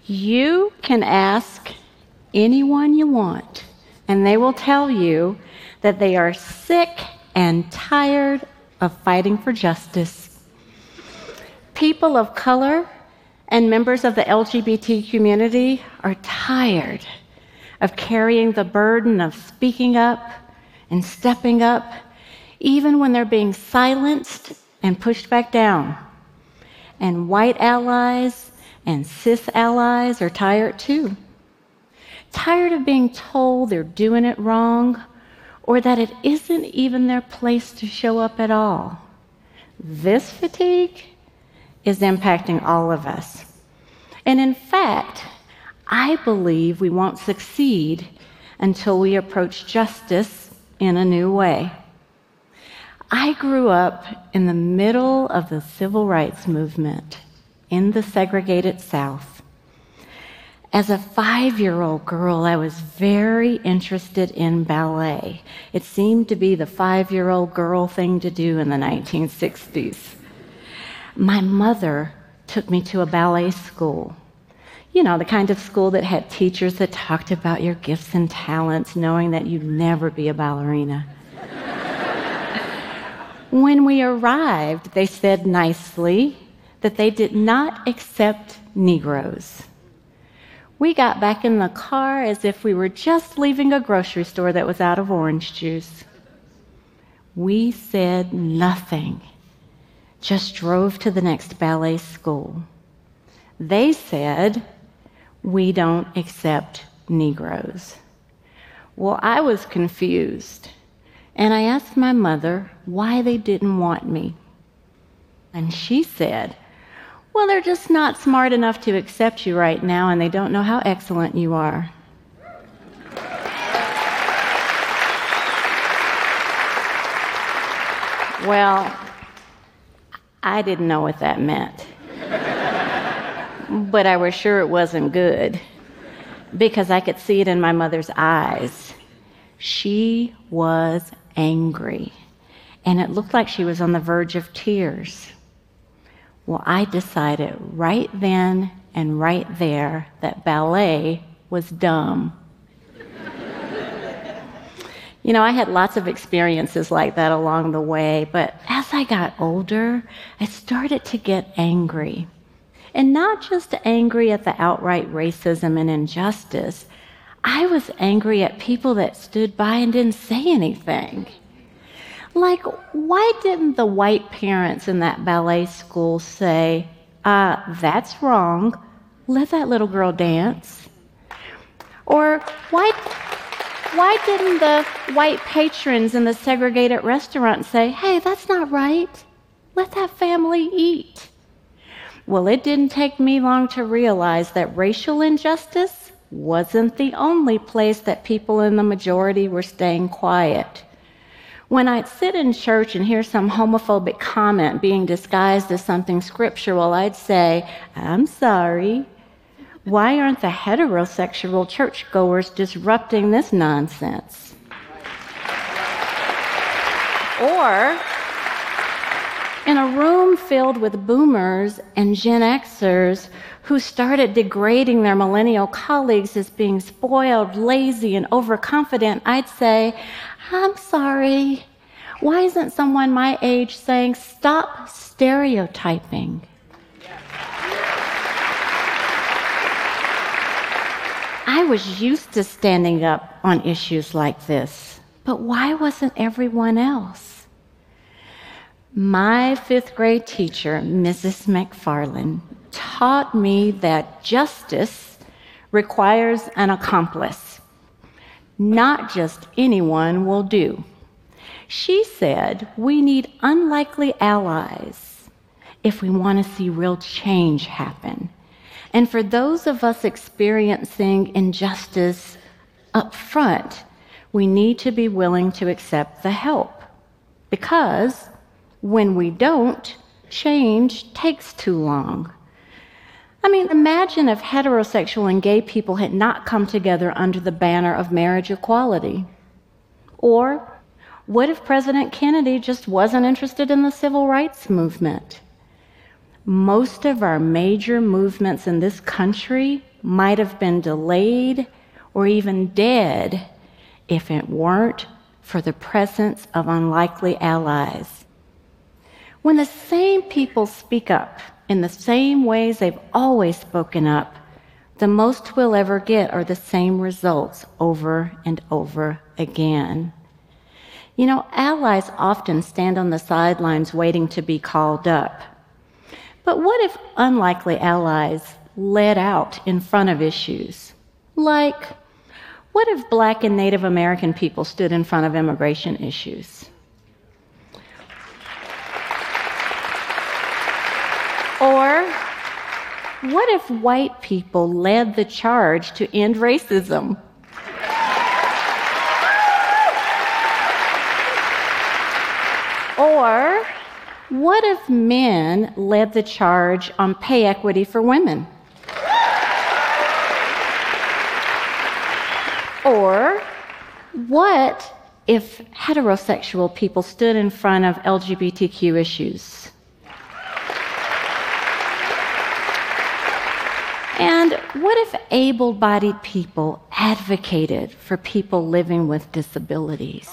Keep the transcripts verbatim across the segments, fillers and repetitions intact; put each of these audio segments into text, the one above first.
You can ask anyone you want, and they will tell you that they are sick and tired of fighting for justice. People of color and members of the L G B T community are tired of carrying the burden of speaking up and stepping up, even when they're being silenced and pushed back down. And white allies and cis allies are tired too. Tired of being told they're doing it wrong, or that it isn't even their place to show up at all. This fatigue is impacting all of us. And in fact, I believe we won't succeed until we approach justice in a new way. I grew up in the middle of the civil rights movement in the segregated South. As a five-year-old girl, I was very interested in ballet. It seemed to be the five-year-old girl thing to do in the nineteen sixties. My mother took me to a ballet school. You know, the kind of school that had teachers that talked about your gifts and talents, knowing that you'd never be a ballerina. When we arrived, they said nicely that they did not accept Negroes. We got back in the car as if we were just leaving a grocery store that was out of orange juice. We said nothing, just drove to the next ballet school. They said, "We don't accept Negroes." Well, I was confused, and I asked my mother why they didn't want me. And she said, "Well, they're just not smart enough to accept you right now, and they don't know how excellent you are." Well, I didn't know what that meant. But I was sure it wasn't good, because I could see it in my mother's eyes. She was angry, and it looked like she was on the verge of tears. Well, I decided right then and right there that ballet was dumb. You know, I had lots of experiences like that along the way, but as I got older, I started to get angry. And not just angry at the outright racism and injustice. I was angry at people that stood by and didn't say anything. Like, why didn't the white parents in that ballet school say, uh, that's wrong, let that little girl dance? Or why, why didn't the white patrons in the segregated restaurant say, hey, that's not right, let that family eat? Well, it didn't take me long to realize that racial injustice wasn't the only place that people in the majority were staying quiet. When I'd sit in church and hear some homophobic comment being disguised as something scriptural, I'd say, I'm sorry, why aren't the heterosexual churchgoers disrupting this nonsense? Or, in a room filled with boomers and Gen Xers who started degrading their millennial colleagues as being spoiled, lazy, and overconfident, I'd say, I'm sorry, why isn't someone my age saying, stop stereotyping? I was used to standing up on issues like this, but why wasn't everyone else? My fifth grade teacher, Missus McFarland, taught me that justice requires an accomplice. Not just anyone will do. She said we need unlikely allies if we want to see real change happen. And for those of us experiencing injustice up front, we need to be willing to accept the help. Because when we don't, change takes too long. I mean, imagine if heterosexual and gay people had not come together under the banner of marriage equality. Or what if President Kennedy just wasn't interested in the civil rights movement? Most of our major movements in this country might have been delayed or even dead if it weren't for the presence of unlikely allies. When the same people speak up in the same ways they've always spoken up, the most we'll ever get are the same results over and over again. You know, allies often stand on the sidelines waiting to be called up. But what if unlikely allies led out in front of issues? Like, what if Black and Native American people stood in front of immigration issues? Or what if white people led the charge to end racism? Or what if men led the charge on pay equity for women? Or what if heterosexual people stood in front of L G B T Q issues? And what if able-bodied people advocated for people living with disabilities?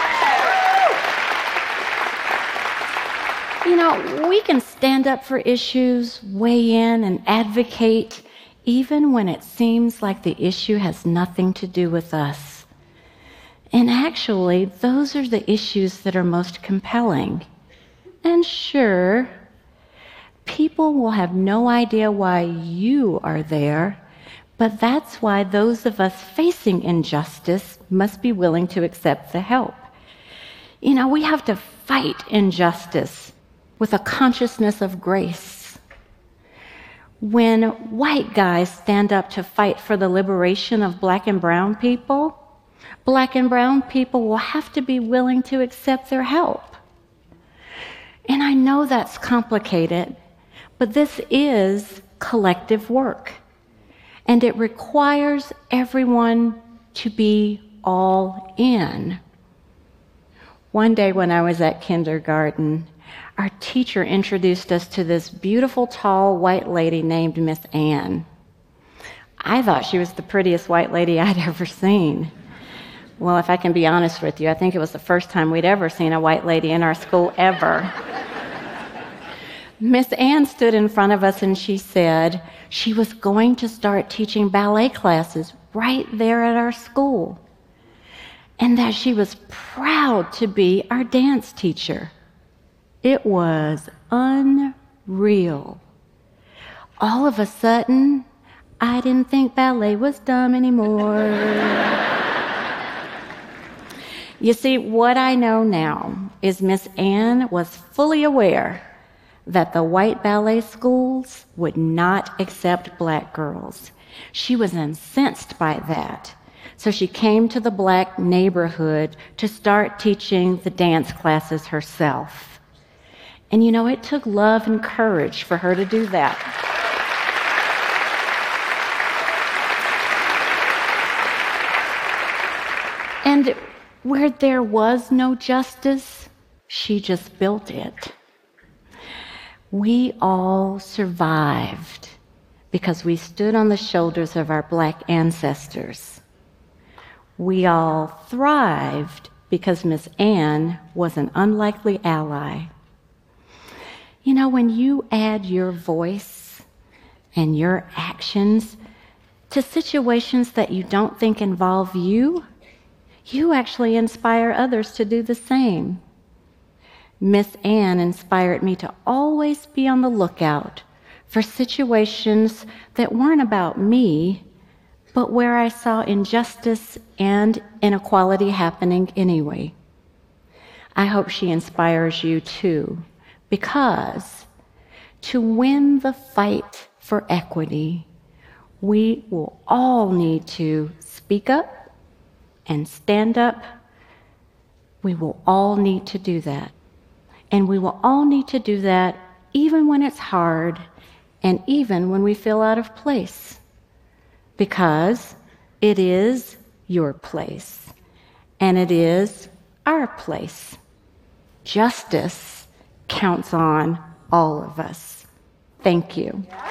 You know, we can stand up for issues, weigh in, and advocate even when it seems like the issue has nothing to do with us. And actually, those are the issues that are most compelling. And sure, people will have no idea why you are there, but that's why those of us facing injustice must be willing to accept the help. You know, we have to fight injustice with a consciousness of grace. When white guys stand up to fight for the liberation of Black and brown people, Black and brown people will have to be willing to accept their help. And I know that's complicated, but this is collective work, and it requires everyone to be all in. One day when I was at kindergarten, our teacher introduced us to this beautiful, tall, white lady named Miss Ann. I thought she was the prettiest white lady I'd ever seen. Well, if I can be honest with you, I think it was the first time we'd ever seen a white lady in our school ever. Miss Ann stood in front of us and she said she was going to start teaching ballet classes right there at our school, and that she was proud to be our dance teacher. It was unreal. All of a sudden, I didn't think ballet was dumb anymore. You see, what I know now is Miss Ann was fully aware that the white ballet schools would not accept Black girls. She was incensed by that. So she came to the Black neighborhood to start teaching the dance classes herself. And you know, it took love and courage for her to do that. And where there was no justice, she just built it. We all survived because we stood on the shoulders of our Black ancestors. We all thrived because Miss Ann was an unlikely ally. You know, when you add your voice and your actions to situations that you don't think involve you, you actually inspire others to do the same. Miss Ann inspired me to always be on the lookout for situations that weren't about me, but where I saw injustice and inequality happening anyway. I hope she inspires you too, because to win the fight for equity, we will all need to speak up and stand up. We will all need to do that. And we will all need to do that even when it's hard and even when we feel out of place, because it is your place and it is our place. Justice counts on all of us. Thank you.